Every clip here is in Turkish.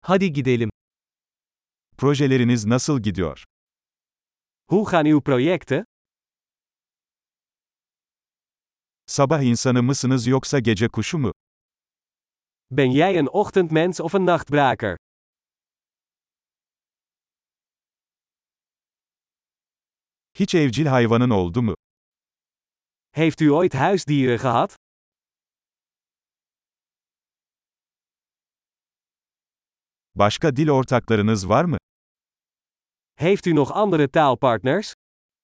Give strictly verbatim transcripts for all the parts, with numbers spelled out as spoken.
Hadi gidelim. Projeleriniz nasıl gidiyor? Hoe gaan uw projecten? Sabah insanı mısınız yoksa gece kuşu mu? Ben jij een ochtendmens of een nachtbraker? Hiç evcil hayvanın oldu mu? Heeft u ooit huisdieren gehad? Başka dil ortaklarınız var mı? Heeft u nog andere taalpartners?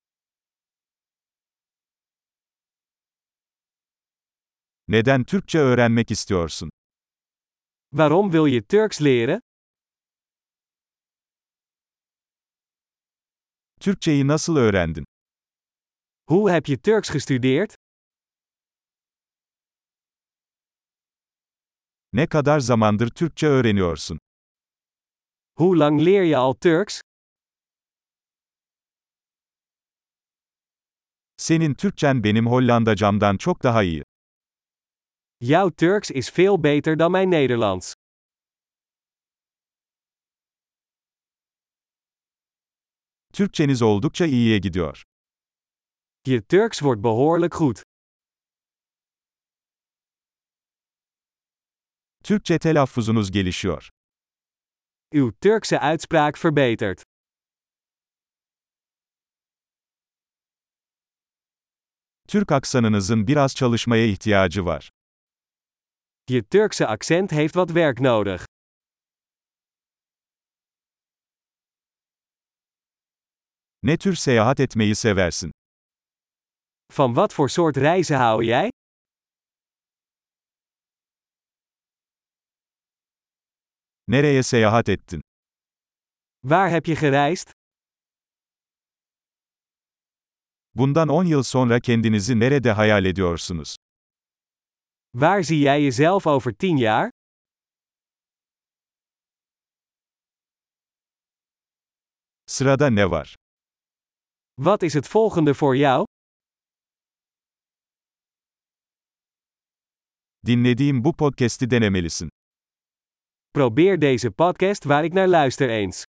Neden Türkçe öğrenmek istiyorsun? Waarom wil je Turks leren? Türkçeyi nasıl öğrendin? Hoe heb je Turks gestudeerd? Ne kadar zamandır Türkçe öğreniyorsun? Hoe lang leer je al Turks? Senin Türkçen benim Hollandacamdan çok daha iyi. Jouw Turks is veel beter dan mijn Nederlands. Türkçeniz oldukça iyiye gidiyor. Je Turks wordt behoorlijk goed. Türkçe telaffuzunuz gelişiyor. Uw Turkse uitspraak verbetert. Türk aksanınızın biraz çalışmaya ihtiyacı var. Je Turkse accent heeft wat werk nodig. Ne tür seyahat etmeyi seversin? Van wat voor soort reizen hou jij? Nereye seyahat ettin? Waar heb je gereisd? Bundan on yıl sonra kendinizi nerede hayal ediyorsunuz? Waar zie jij jezelf over tien jaar? Sırada ne var? Wat is het volgende voor jou? Dinlediğim bu podcast'i denemelisin. Probeer deze podcast waar ik naar luister eens.